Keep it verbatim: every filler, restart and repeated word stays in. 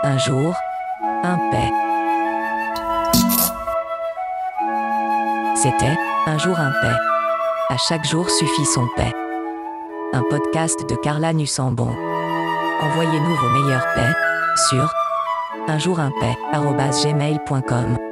Un jour, un paix. C'était Un jour un paix. À chaque jour suffit son paix. Un podcast de Carla Nussambon. Envoyez-nous vos meilleures paix sur un jour un paix arobase gmail point com.